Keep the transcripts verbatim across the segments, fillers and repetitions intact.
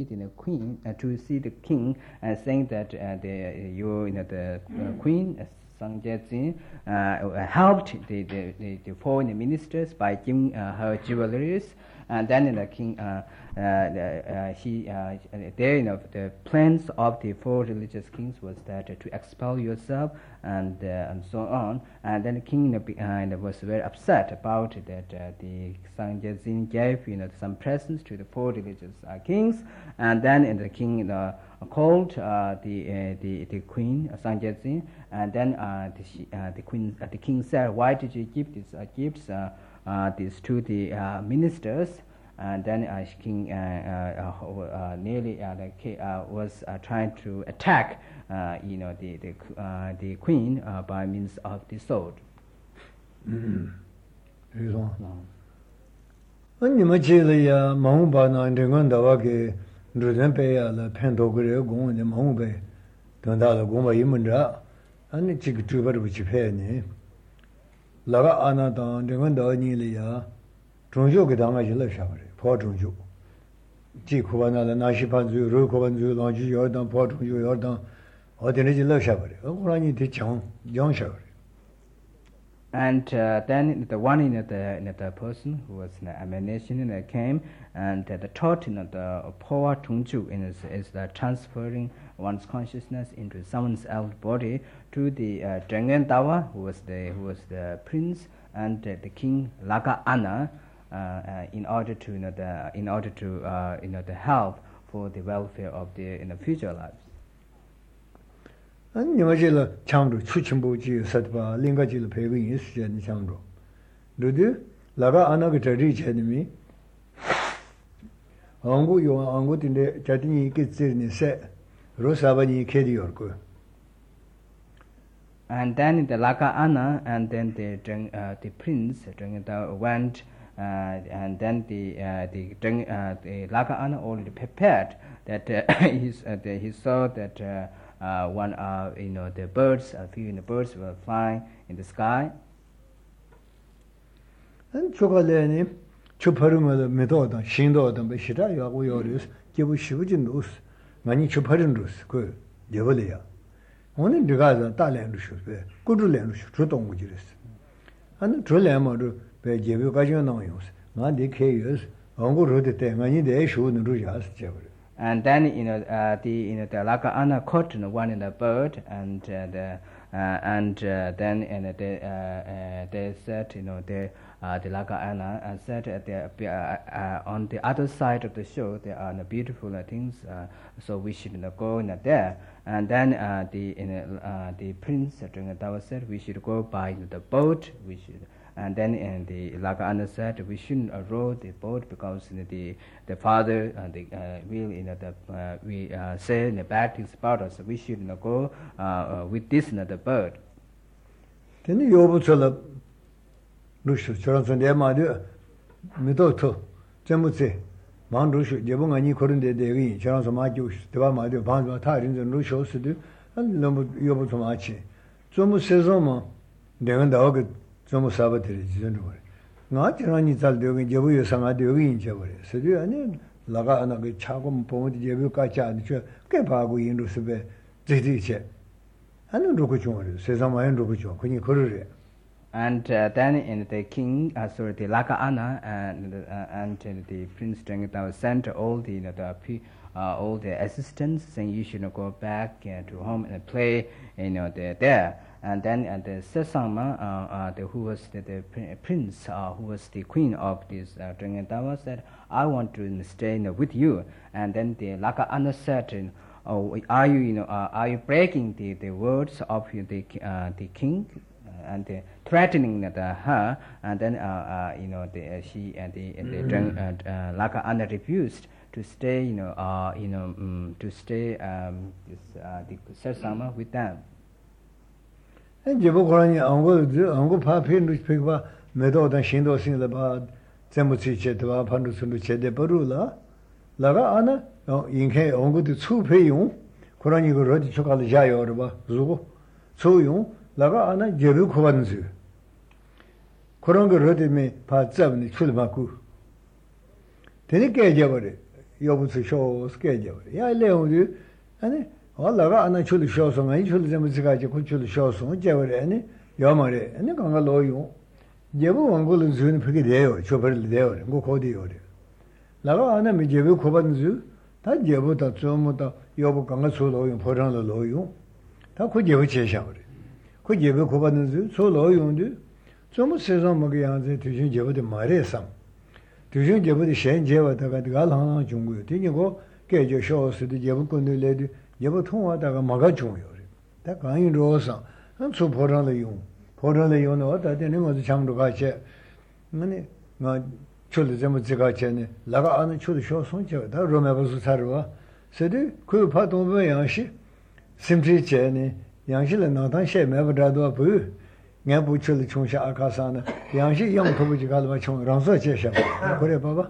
see the queen, uh, to see the king, and uh, saying that uh, the you, you know, the uh, queen uh, Sang Jie-jin uh, helped the, the, the, the foreign ministers by giving uh, her jewelries, and then the king, uh, uh, uh, he, uh, there, you know, the plans of the four religious kings was that uh, to expel yourself and uh, and so on, and then the king uh, was very upset about that uh, the Sang Jie-jin gave, you know, some presents to the four religious uh, kings, and then uh, the king, you know, called uh, the, uh, the the queen uh, Sang Jie-jin, and then uh, the, she, uh, the queen uh, the king said, why did you give these uh, gifts uh, uh, these to the uh, ministers? And then uh, king uh, uh, uh, nearly uh, the, uh, was uh, trying to attack uh, you know the the, uh, the queen uh, by means of the sword. Mm. Ani ma che le ya maung ba na ndengon da wa ke ndren pe ya la phen do gre gong ne maung be dan da la gong ba yin mun da ani chi ge tu ba bu chi phe ni la ga ana da ndengon da ni le ya zhong jiu ge dang ga ji le sha ba re po zhong jiu ji ku ba na la na shi pan zu ru ku ban zu lang ji yo dang po zhong jiu yo dang o de ne ji le sha ba re o ku ra ni de chang yang sha ba re. And uh, then the one in the, in the person who was in the emanation uh, came, and uh, the thought in the power tungju is, is the transferring one's consciousness into someone's else body to the uh, Zhengen Dawa, who was the who was the prince, and uh, the king Laka Ana, uh, uh, in order to you know the in order to uh, you know the help for the welfare of the in the future lives. Ani ma je la chang ru chu chim bu ji sat ba ling ga ji la pe yin is je ni chang ru lu de la ga ana ge ta ri che ni mi ang gu yo ang gu tin de ja tin yi ge zhe ni se ro sa ba ni ke di yor ko. And then the Laka Ana and then the uh, the prince Zheng went uh, and then the uh, the uh, the Laka Ana already prepared that uh, he's, uh, the, he saw that uh, Uh, one, uh, you know, the birds, a few the birds were flying in the sky. And chocolate, chuparumada, metoda, shindo, and Beshita, Yagoyorius, give Shivujinus, many chuparinus, good, Devolia. Only the guys are Talan should good land, Truton Wujuris. And the Trulamadu, by Jevu Gajanonius, not the Kayus, Ongo wrote the thing, I need the issue in Rujas, Jever. And then you know uh, the you know the Laka Ana caught you know, one in the bird, and uh, the uh, and uh, then and they uh, uh, they said you know the uh, the Laka Ana and said uh, they, uh, uh, on the other side of the shore there are uh, beautiful uh, things, uh, so we should you know, go in uh, there. And then uh, the you know, uh, the prince uh, said we should go by you know, the boat. We should. And then and the Laka Ana said we shouldn't uh, row the boat because you know, the the father uh, the uh, will you know the uh, we uh, say you know, bad things about us. So we should you know, go uh, uh, with this you know, the bird. Then you overtell Lucius Johnson de Madu Midoto Jamutse Mandushu Jabungani couldn't de Devi Johnson Majus Deva Madu Banga Tyrants and Lucius to do and Lumbu Yobotomachi. Somu Sezoma Devan the Ogre. Some sabotage, not running doing Javu, some idea in Javu. So do you Laga and a chagum point, Javuka Chan, Kepagu in Rusube, Zitiche. I don't know which one says I'm my Rukucho, when you could. And uh, then in the king, uh, sorry, the Laka Ana and uh, and the prince Zheng sent all the, you know, the uh, all the assistants saying you should you know, go back uh, to home and play, you know, the, there. And then uh, the Sesama, uh, uh, the, who was the, the prince, uh, who was the queen of this uh, Zheng Dawa, said, I want to stay you know, with you. And then the Laka Ana said, oh, are you, you know, uh, are you breaking the, the words of the uh, the king? And uh, threatening the, her, and then uh, uh, you know the, uh, she and the, uh, the mm-hmm. uh, uh, Laka Ana refused to stay, you know, uh, you know, um, to stay um, this, uh, the Sesama with them. And Jabukorani, Ango, Ango Papin, which pick up Medo and Shindo sing about Zemuchi Chetava, Pandusun Chede Barula, Laga Ana, in K, Ongo to two payum, Korani go ready to call the Jay or Zugo, so you, Laga Ana, Jeru Kovanzu. Koronga ready me, part seven, Chulmaku. Then it gave Javari, 요부터 쇼 스케줄 야 레오디 아니 올라가 안에 줄 쇼서 아니 줄 좀 지가지 고줄 쇼서 제월에니 요마레 아니 강가 로요 예부 원고는 주는 그게 돼요 줘버릴 돼요 뭐 거디요 나가 안에 미제부 고반주 다 예부다 좀다 요부 강가 소로요 보랑로 로요 다 고제부 제샤버리 그 예부 고반주 소로요인데 좀 세상 먹게 양제 뒤신 제부도 말해서 뒤신 제부도 현재와다가 갈하나 중고요 되니고 개저 쇼스도 예부 건들래도 예부 통화다가 막아 중요 다 강인로서 한 소보랑로 용 보러를 요는 어디다 되는 것도 장도 같이 아니 나 출을 좀 제가 전에 나가 아는 출을 쇼 손죠 다 로메버스 살아 세대 그 파동의 양식 심지 전에 양식을 나단 셰메버다도 부 내가 부출을 총시 아카사는 양식 영토부지 갈바 총 랑서 제셔 그래 봐봐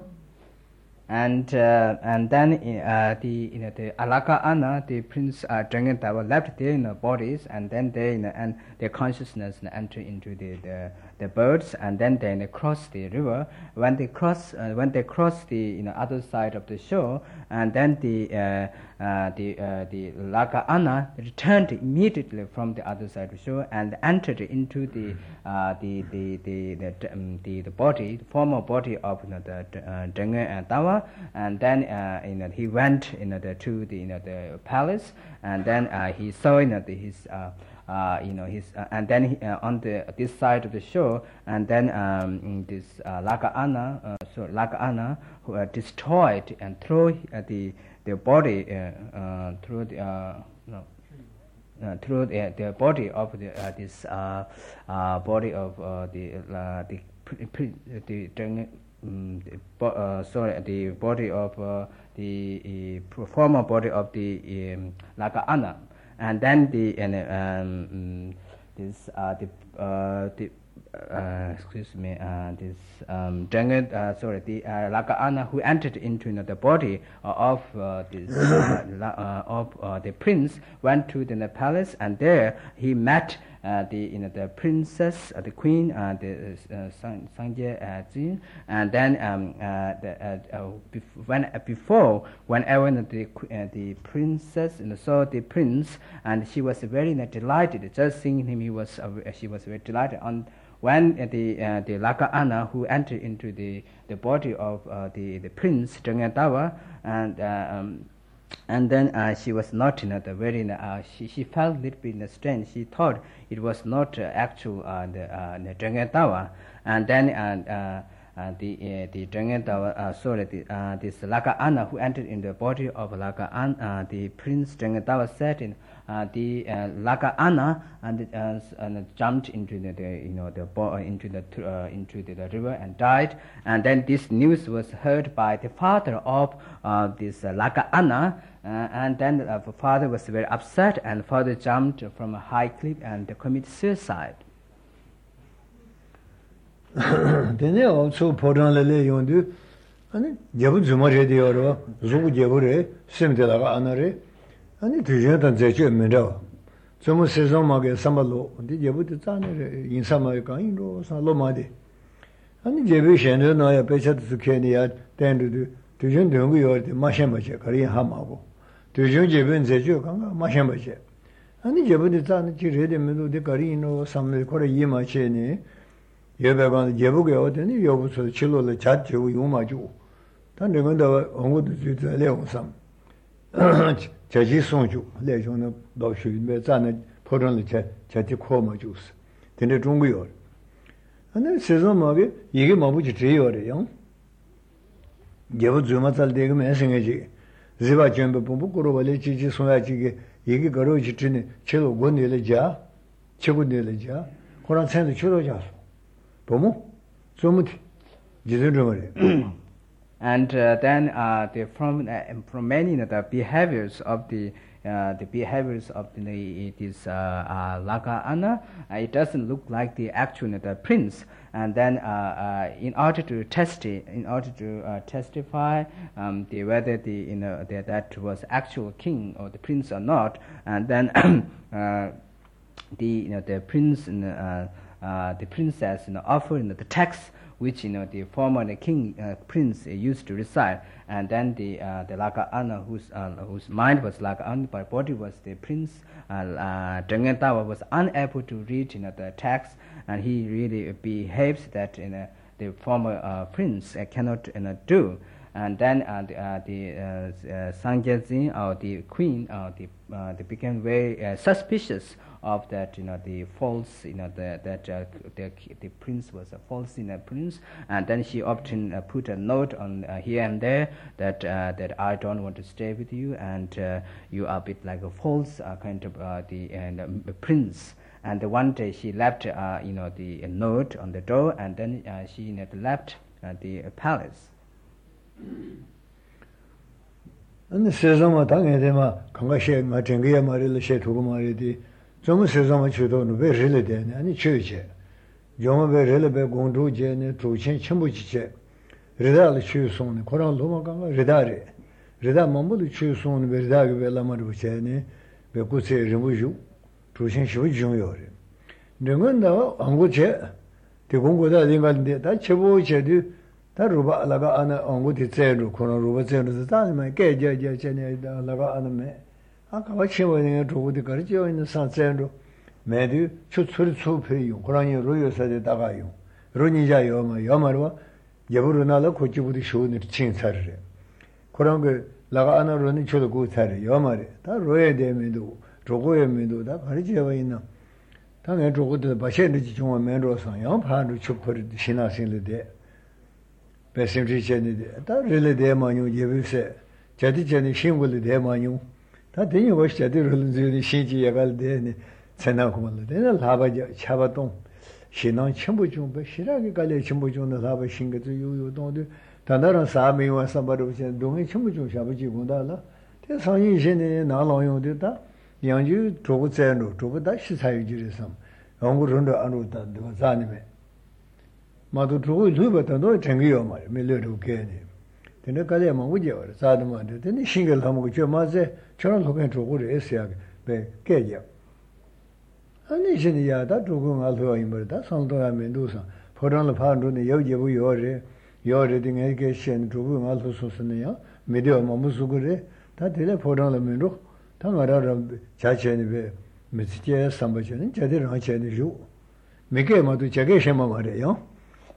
And uh, and then uh, the you know the Alaka Anna, the prince uh, Drangentawa left their you know, bodies, and then they you know, and their consciousness you know, enter into the, the the birds, and then they you know, cross the river. When they cross uh, when they cross the you know other side of the shore, and then the uh, uh, the uh, the Laka Anna returned immediately from the other side of the shore and entered into the uh, the the the the, um, the the body, the former body of you know, the uh, Drangentawa. And then uh, you know he went you know the, to the you know the palace, and then uh, he saw you know the, his uh, uh, you know his uh, and then he, uh, on the this side of the shore, and then um, this uh, Laka Anna uh, so Laka Anna who uh, destroyed and threw uh, the the body uh, uh, through the uh, no. Uh, through the, the body of the uh, this uh, uh, body of uh, the uh, the pre, pre, the, the Um, the bo uh, sorry, the body of uh, the uh, former body of the um, Laka Anna, and then the and um, this uh, the uh, the uh, excuse me uh, this um, Drangent, uh, sorry the uh, Laka Anna who entered into you know, the body uh, of uh, this uh, uh, of uh, the prince went to the, the palace, and there he met Uh, the you know the princess, uh, the queen, uh, the uh, Sangye uh, Jin, and then um, uh, the, uh, uh, bef when uh, before whenever the uh, the princess you know, saw the prince, and she was very you know, delighted just seeing him. He was uh, she was very delighted. On when uh, the uh, the Laka Anna who entered into the the body of uh, the the prince Drangentawa, and uh, um, and then uh, she was not you know, the very uh, she she felt a little bit you know, strange. She thought it was not uh, actual uh, the uh, the Drangentawa, and then and uh, uh, the uh, the Drangentawa uh, sorry the, uh, this Laka Anna who entered in the body of Laka Anna, uh, the prince Drangentawa said in uh, the uh, Laka Anna and, uh, and jumped into the, the you know the bo into the uh, into the, the river and died. And then this news was heard by the father of uh, this uh, Laka Anna, uh, and then uh, the father was very upset, and father jumped from a high cliff and committed suicide. Then also 포란레레 용도 아니 제부 주말에 되어로 누구 제부래 심들다가 안아래 아니 뒤에다 제주 면도 좀 세상마게 삼발로 근데 제부도 짜네 인사마에 가인로 살로마데 아니 제부 셴도 나야 배차도 케니아 땡도 뒤전 등고 요데 마셴바체 거리 하마고 뒤전 제부 제주 강가 마셴바체 아니 제부도 짜네 지레데 면도 거리노 삼메 거리 이마체니 예배관 예부게 어디니 여부서 칠로를 자주 용마주 단 내가다 언고도 주자 레옹삼 자지 송주 레종의 도시에 자는 포런을 제 자지 코마주스 근데 중국요 아니 세상마게 이게 뭐부지 제요래요 예부 주마살 되게 매생이지 지바 전부 본부고로 원래 지지 송야지게 이게 거로지 드네 제로 원내래자 최고내래자 그런 생도 줄어져 And uh, then uh, the, from uh, from many you know, the behaviors of the uh, the behaviors of the this uh, uh, Laka Anna, uh, it doesn't look like the actual you know, the prince. And then uh, uh, in order to test it, in order to uh, testify um, the whether the you know the, that was actual king or the prince or not, and then uh, the you know the prince. Uh, Uh, the princess you know, offered you know, the text which you know the former the king uh, prince uh, used to reside, and then the uh, the Laga'ana, whose uh, whose mind was Laga'an, but body was the prince. Uh, uh, Zheng Dawa was unable to read you know the text, and he really behaves that you know the former uh, prince uh, cannot you know, do. And then uh, the, uh, the uh, uh, Sang Jia or the queen, uh, the, uh, they became very uh, suspicious of that, you know, the false, you know, the, that uh, the, the prince was a false, you know, prince, and then she often uh, put a note on uh, here and there that uh, that I don't want to stay with you, and uh, you are a bit like a false uh, kind of uh, the and, um, prince. And one day she left, uh, you know, the note on the door, and then uh, she you know, left uh, the palace. And Sesama Tangedema, Kangashe, Matangia Marilla Shetu Maridi, Joma Sesama Chudo, very really then, and church. Joma Relebe Gondu Jen, Truchin Chambuche, Redal Chuson, Koran Lomaganga, Redare, Reda Mambu Chuson, Verdag Vela Maruchene, Becuse Remuju, Truchin Shu Junior. Remunda, Anguche, the Gongoda Lingal, that Chevo 다 루바 라가 아나 옹고디 제루 코노 루바 제루 다니마 게제제 제네 라가 아나메 아까 와치원에 조고디 가르치어 있는 산제루 메디 추출 추페요 고라니 로요사데 다가요 로니자요 마 요마르와 예부르나라 고치부디 쇼니 칭사르레 그런 그 라가 아나로니 저도 고사르 요마레 다 로에 데메도 조고에 메도 다 가르치어 있는 당에 조고디 바셰르지 중앙 메로상 양파르 추퍼르 신나신르데 Pessimity Jenny, that really de manu, you say, Jaddy Jenny Shimble de manu. That then you watch Jaddy Rundi Shinji Yagal de Senakumal, then a lava Chavaton. She non Chimbujum, but she like a Chimbujum, the lava shinga to you, you don't do. Tandara Sami was somebody was doing Chimbujum Shabaji Gundala. There's how you Jenny and all you did that. Young you drove Zeno, drove that she's how you did some. Ongurundo Anuta, the was anime. 마도 두고 두고부터 챙겨요 말 밀려도 괜히 근데 갈래만 오죠 사도만 근데 신경 하고 저 맞에 저런 속에 두고를 했어야 배 깨져 아니 신이야다 두고 알고 있는데 상도야 면도서 포란을 파는데 여기 요래 요래 등에 계신 두고 알고 소스네요 미디어 뭐 무슨 그래 다 되게 포란을 면도 다 말아라 자체는 왜 미치게 삼바전은 제대로 하셔야 줘 මේ게 모두 제게 셈마 말이에요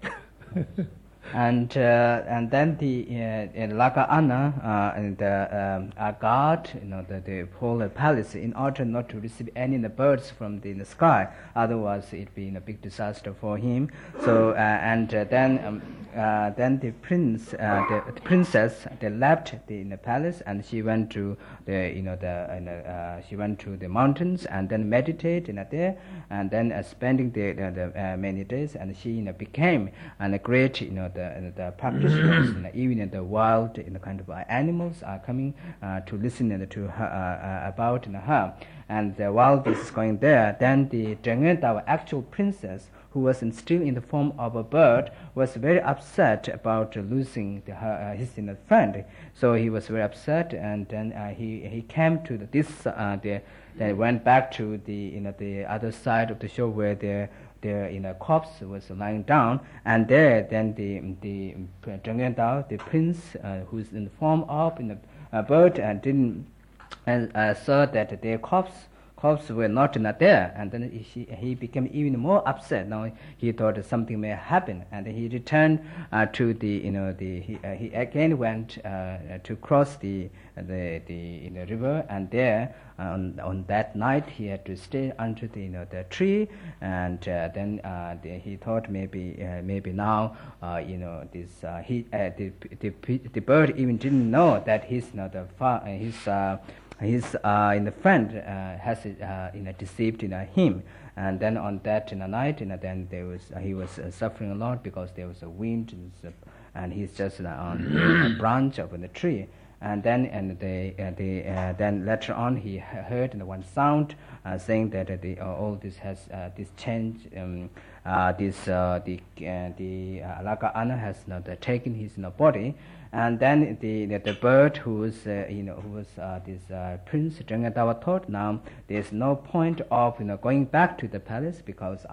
and uh, and then the uh, Laga'ana uh, and the um, uh, guard, you know, the, the whole palace, in order not to receive any the birds from the, in the sky, otherwise it be a big disaster for him. So uh, and uh, then um, uh, then the prince, uh, the, the princess, they left the in the palace, and she went to the you know the uh, she went to the mountains and then meditate in you know, there, and then uh, spending the, the, the uh, many days, and she you know, became and a great you know the uh, the practitioners, you know, even in the wild, you know, kind of uh, animals are coming uh, to listen uh, to her uh, uh, about you know, her. And uh, while this is going there, then the Zheng, our actual princess, who was in, still in the form of a bird, was very upset about uh, losing the, her, uh, his you know, friend. So he was very upset, and then uh, he he came to the, this. Uh, the, they went back to the you know the other side of the shore where the the you know corpse was lying down, and there then the the Zheng Dao, the prince, uh, who's in the form of you know, a bird, and didn't. And uh, saw that their corpse, corpse were not, not there, and then he, he became even more upset. Now he thought something may happen, and he returned uh, to the, you know, the he, uh, he again went uh, to cross the the the you know, river, and there uh, on on that night he had to stay under the you know the tree, and uh, then uh, the, he thought maybe uh, maybe now uh, you know this uh, he uh, the, the the bird even didn't know that his you know the far, uh, his uh, his uh, in the friend uh, has uh, you know deceived you know, him, and then on that in the night you know, then there was uh, he was uh, suffering a lot because there was a wind and, uh, and he's just uh, on a branch of the tree, and then and the uh, the uh, then later on he heard you know, one sound uh, saying that uh, the uh, all this has uh, this change um, uh, this uh, the uh, the uh, Laga'ana has you know, the, taken his you know, body. And then the the, the bird who was uh, you know who was uh, this uh, Prince Zheng Dawa thought, now there's no point of you know going back to the palace because I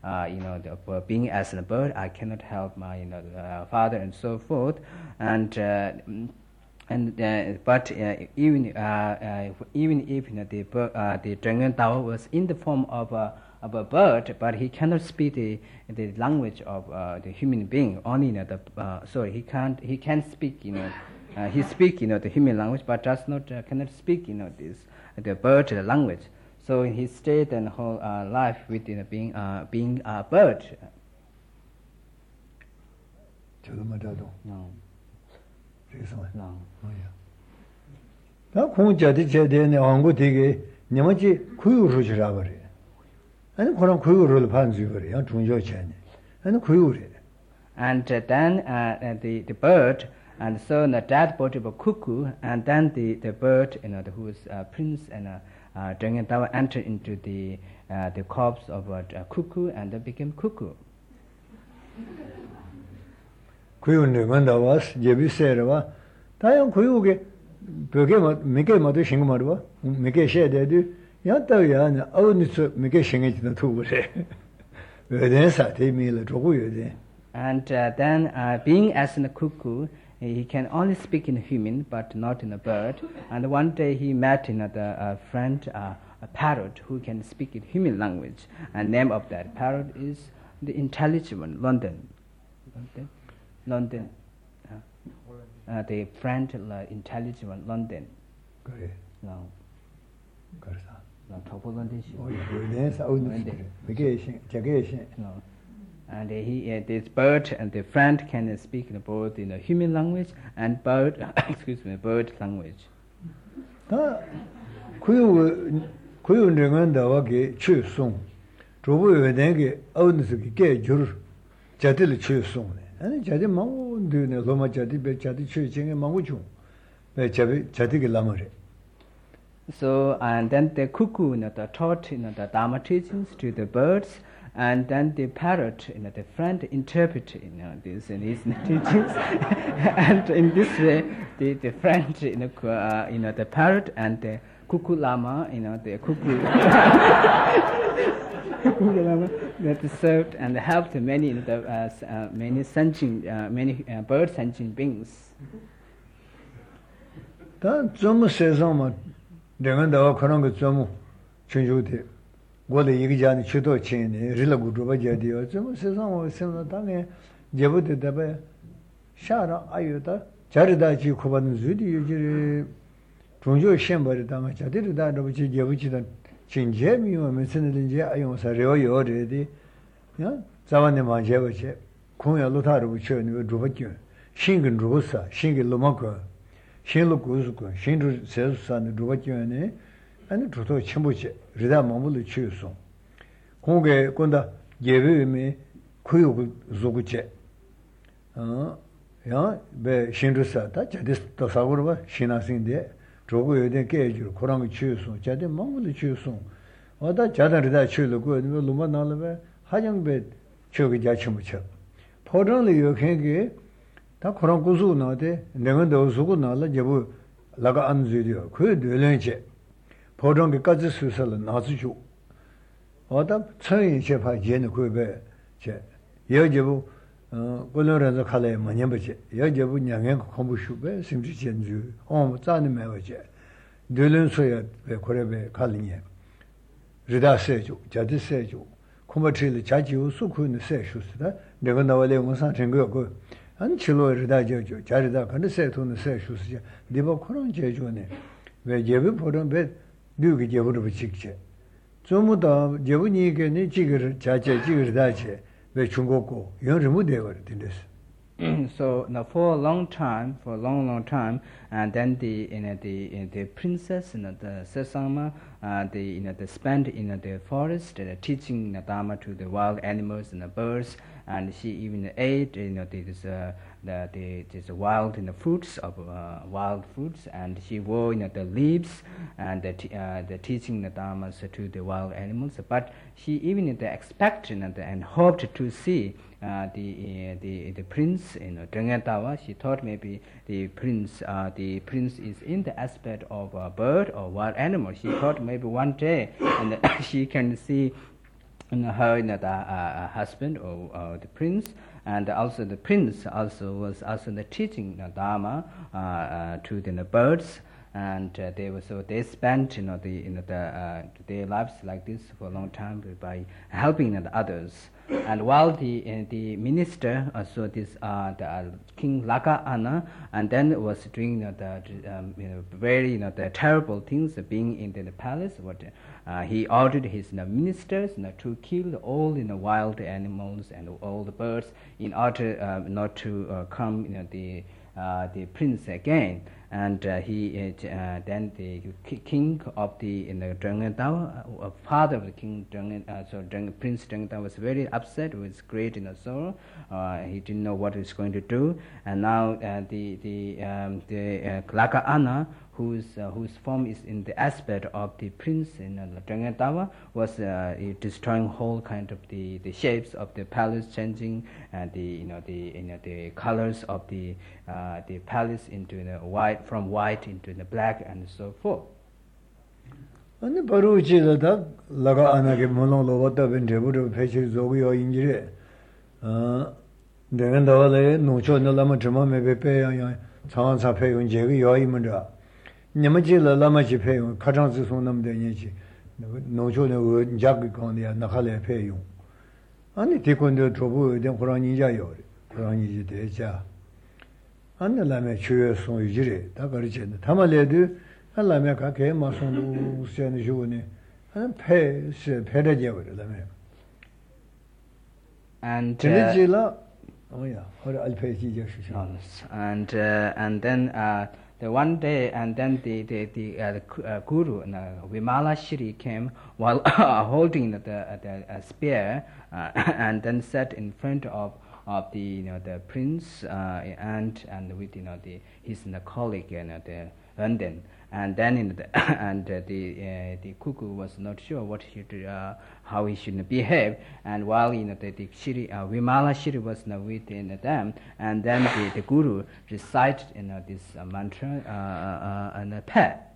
uh, you know, the, uh, being as a bird, I cannot help my, you know, uh, father and so forth, and. Uh, And uh, but uh, even uh, uh, even if you know, the uh, the Zhengen Dao was in the form of a of a bird, but he cannot speak the the language of uh, the human being. Only you know, the uh, sorry he can't he can speak you know uh, he speak you know the human language, but does not uh, cannot speak you know this the bird language. So he stayed and whole uh, life with you know, being uh, being a bird. No. No. 다 공자들 제대에 한국 되게 내마지 구유로 지라버려. 아니 그런 구유를 반주버려. 중요체네. 아니 구유래. And uh, then uh, the the bird and so the dead body of a cuckoo, and then the the bird you know the, who is uh, prince and uh, uh, Zhengen Dao entered into the uh, the corpse of a, a cuckoo and then became cuckoo. 구유는 건다 와서 제비세르와 다양 구유게 벽에 몇개 모두 신고 말이와 몇개 셔야돼도 야다야 어느서 몇개 신게지도 두고래 왜된사 대미를 조고요데. And uh, then uh, being as in a cuckoo, he can only speak in human but not in a bird. And one day he met another uh, friend, uh, a parrot, who can speak in human language. And name of that parrot is the intelligent one, London. London. London, uh, uh, the friend, uh, intelligent one, London. 그래. No. 그래서. No, topo London. 어, 왜내서 어느 몇개 신, 저게 신. No. And uh, he, uh, this bird and the friend can speak in both in the human language and bird, excuse me, bird language. 다 구유 구유는 나와게 추송. 조부에 된게 어느서 게 줄. 자들 추송네. 아니 자디 망고드네 로마 자디 배 자디 추징에 망고주 배 자비 자디게 라머레. So and then the cuckoo you know, the taught you know, the Dharma teachings to the birds, and then the parrot you know, the friend interpret you know this in his teachings, and in this way the the friend you know, uh, you know the parrot and the cuckoo lama you know the cuckoo. That served and helped many you know, the, uh, uh, many sentient uh, many uh, bird sentient beings. 다 좀 세상만 내가 더 그런 거 좀 준주대. 원래 얘기자니 주도 체네 릴라고 줘봐야지요. 좀 세상을 생각 당에 제부터 대배 샤라 아유다 자르다 지 고받는 주디 유지 중조 시험벌이 당에 자들다 너부지 제부지던 진재미와 메시는지 아용사 레오요레디 야 자반네 만제버체 공야 로타르 부처니 주버죠 신근 주버사 신근 로마고 신로 고스고 신루 세수산의 주버죠네 아니 주도 침부지 리다 몸을 치우소 공게 건다 예배미 구욕을 조구체 어야배 신루사다 자디스도 사고로 신하신데 조고 여대 깨줄 그런 거 치우소 자대 몸을 치우소 어다 자다르다 치우고 로마 나르베 하정배 저기 자치무쳐 포런을 요행게 다 그런 구수 나데 내가 넣어서고 나라 제부 라가 안 주디요 그 늘len체 포런게까지 수설은 나주죠 어다 처인 제파 예는 그베 제 여제부 어 꼴로라서 칼에 많이 버지 여제부 냥행 공부슈베 심지 전주 어 짜는 매버지 늘len소야 왜 그래베 칼리니 리다세죠 자디세죠 코마트리 자지우 수쿠는 세슈스다 내가 나와래 무슨 생각고 안 칠로 리다죠 자리다 근데 세토는 세슈스지 네버 그런 제조네 왜 예배 보는 배 뉴기 제부를 붙이지 전부 다 제부니게니 지거를 자제 지거를 다체 왜 중국고 영을 못 되거든 됐어. So now for a long time, for a long, long time, and then the you know, the you know, the princess, you know, the Sesama, uh, the you know, the spent in you know, the forest, uh, teaching the Dharma to the wild animals and the birds, and she even ate you know this uh, the the this wild you know, fruits of uh, wild fruits, and she wore you know the leaves and the t- uh, the teaching the Dharmas to the wild animals. But she even you know, expected you know, and hoped to see. Uh, the uh, the the prince in you know, Zhengen Dao. She thought maybe the prince uh, the prince is in the aspect of a bird or wild animal. She thought maybe one day and she can see and her you know, the, uh, husband or uh, the prince, and also the prince also was also the teaching you know, Dharma uh, uh, to the you know, birds, and uh, they were so they spent you know the you know the uh, their lives like this for a long time by helping you know, the others. And while the uh, the minister uh, so this uh, the uh, King Laka Ana and then was doing you know, the um, you know very you know the terrible things uh, being in the, the palace, what uh, he ordered his you know, ministers you know, to kill all you know wild animals and all the birds in order uh, not to uh, come you know the uh, the prince again. And uh, he uh, then the king of the you know, Drangadawa, uh, father of the king Drang, uh, so Drang, Prince Drangadawa was very upset, with great you know, sorrow. Uh, he didn't know what he was going to do, and now uh, the the um, the uh, Laka Ana, whose uh, whose form is in the aspect of the prince in uh, Drangadawa, was uh, destroying whole kind of the, the shapes of the palace, changing and uh, the you know the you know the colors of the uh, the palace into you know, white, from white into the black and so forth. And Baruchi the Laga Anaki Mono Lovata Ventebu Pechi Zogio Injire. Then the other no cho no lama trema may pay on Sansa pay on Jegi Yoimunda. Namaji la Lamachi pay on Katan Sunam de Nichi. No cho no Jagicon the Nakale pay you. And it take on the trouble, then Kurani Jayo, Kurani Deja. And the Lama Chua son Ujire, Takarichin, Tamaledu, and Lamaka came Mason San Juni, and pay Pedaja. And uh, oh yeah, I'll pay you. And uh, and then uh, the one day, and then the the the, uh, the uh, guru uh, Vimala Shri came while holding the the uh, spear, uh, and then sat in front of of the you know the prince uh, and and with you know the his you know, colleague you know the London. And then in the and uh, the uh, the cuckoo was not sure what he should, uh, how he should behave. And while you know the, the Shri, uh, Vimala Shri was you know, within them, and then the, the guru recited you know this uh, mantra uh, uh, and a pet.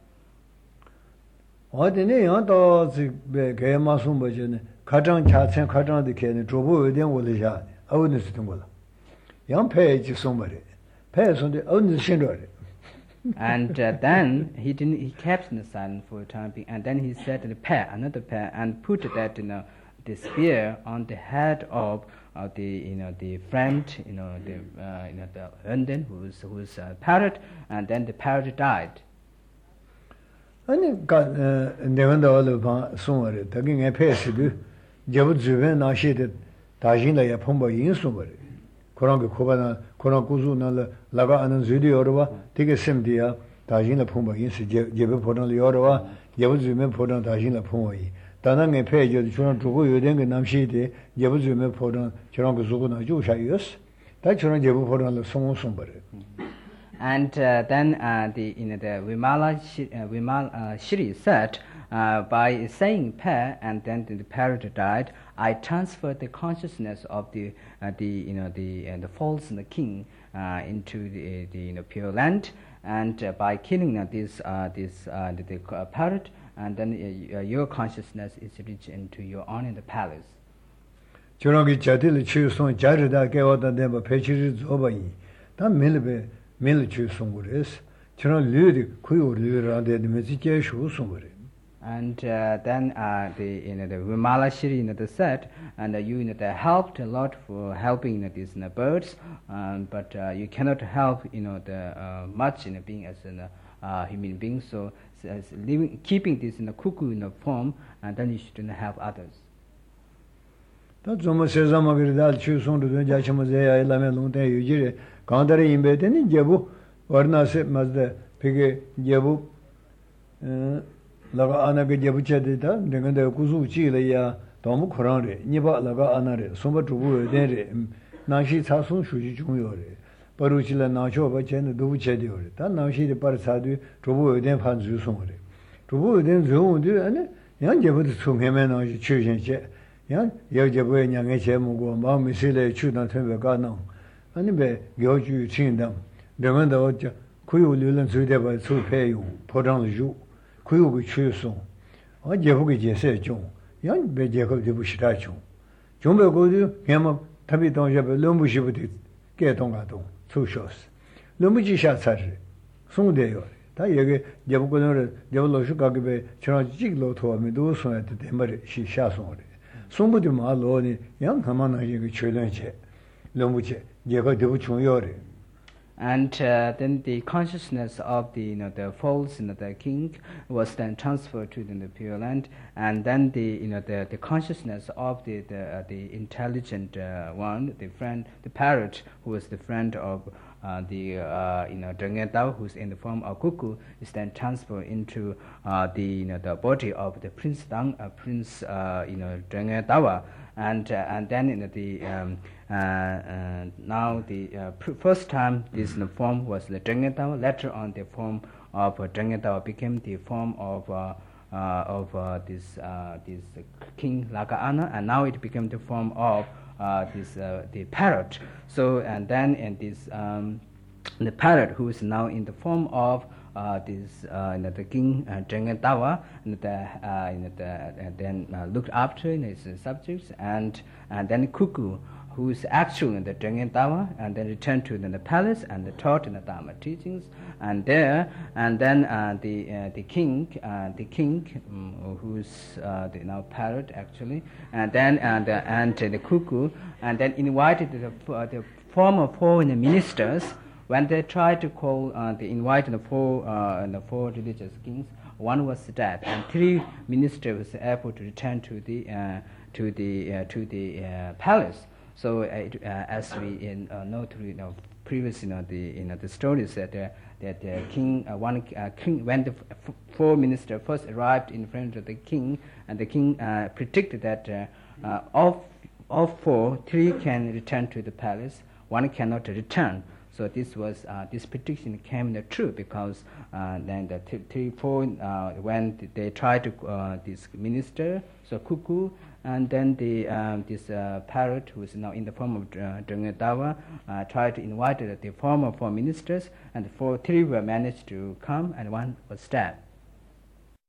What the name of the Gayamasum Bajan, Katan Chatsan Katan the Ken, Trobu, then will the yard. I wouldn't sit on young page is somebody. Pairs on the own syndrome. And uh, then he didn't. He kept in the silence for a time being, and then he said the pair, another pair, and put that you know the spear on the head of uh, the you know the friend you know the uh, you know the London who's who's a parrot, and then the parrot died. And got never the all of somewhere. Taking a pair to do. Jabu Zuven, now she did. Tajin la Pumba in somewhere. Koranga Kobana, Korankuzu, Laga and Zudi Orova, take a Simdia, Tajina Pumba, Jebe Podan Liorova, Yabuzume Podan Tajina Pumai. Danang a page of the Churan Tugu, then Namshide, Yabuzume Podan, Churanku Jusha, yes. That Churan Jabu Podan Song somebody. And uh, then uh, the you know the Vimala Shri, uh, Vimal, uh, Shri said, uh, by saying pair and then the parrot died, I transferred the consciousness of the uh, the you know the uh, the false and the king uh, into the, the you know pure land, and uh, by killing uh, this uh, this uh, the, the uh, parrot, and then uh, your consciousness is reached into your own in the palace. Churangi Chatil Chuson Jarida gave out the name of Pechis Obai. That Milbe Mil Chusungures. Churan Ludi Kuyu Lura the Message Shusungure. And uh, then uh, the you know the Vimala Shri you know the said, and uh, you you know they helped a lot for helping you know, these you know, birds, um, but uh, you cannot help you know the uh, much in you know, being as a uh, human being. So, so as living keeping this in you know, cuckoo in you know, form, and then you should you know, help others. That's almost as I'm going to choose on to the Jachamazea, Lamelon, you Kandari in bed, and Jabu, Varna said, Mazda, Piggy, Jabu. Laga Anaga Jabuchadita, the Kuzu Chile, Tomu Kurare, Niba Laga Anare, Soma Trubu, Dere, Nashi Sasun Shuji Juniore, Paruchila Nacho, Bachen, Dubuchediore, that now she the Parasadu, Trubu, then Panzu Sumore. Trubu, then Zoom, and young Jabu to him and choosing chair. Young Yajabu and young H M go, Mamma Sile, Chudan Temple Garno, and be Yoju Chin them. The window Kuyu Lulan Sudeba, so pay you, put on the Jew. Kuyu Chuson. Or Jabuki said John. 양 베제고 되부시라죠. 좀베고도 냐마 답이 동접에 럼부시부터 깨동가동 소쇼스. 럼부지샤사르 송대요. 다 여기 제보고는 제보로슈 가게 저런 찍로토하면도 손한테 대머리 시샤송을. 송부도 말로니 양 가만하게 그 최련체. 럼부지 제가 되부 중요해. And uh, then the consciousness of the, you know, the false, you know, the king was then transferred to the Pure Land, and then the, you know, the, the consciousness of the the, uh, the intelligent uh, one, the friend, the parrot, who was the friend of uh, the uh, you know Drenge Dao, who's in the form of cuckoo, is then transferred into uh, the you know the body of the Prince Dang, uh, Prince uh, you know Drenge Dawa, and uh, and then in the um, uh, uh, now the uh, pr- first time this mm-hmm. form was the Drenge Dawa. Later on, the form of uh, Drenge Dawa became the form of uh, uh, of uh, this uh, this uh, King Lagaana, and now it became the form of uh, this uh, the parrot. So and then in this um, the parrot, who is now in the form of Uh, this uh, you know, the king uh, Drenge Dawa, and the, uh, you know, the, uh, then uh, looked after you know, his uh, subjects, and and then cuckoo, who is actually the Drenge Dawa, and then returned to the, the palace and taught in the Dharma teachings, and there, and then uh, the uh, the king, uh, the king, um, who's uh, the now parrot actually, and then and uh, and uh, the cuckoo, and then invited the uh, the former foreign ministers. When they tried to call, uh, they invited the four, uh, the four religious kings. One was dead, and three ministers were able to return to the uh, to the uh, to the uh, palace. So, uh, it, uh, as we in, uh, know through you know, previous, you know, the you know the stories that uh, that the king, uh, one uh, king, when the f- four ministers first arrived in front of the king, and the king uh, predicted that uh, uh, of of four, three can return to the palace, one cannot return. So this was uh, this prediction came true, because uh, then the th- three four uh, when th- they tried to uh, this minister, so cuckoo, and then the um, this uh, parrot, who is now in the form of uh, Drenge Dawa, uh, tried to invite the former four ministers, and the four three were managed to come, and one was dead.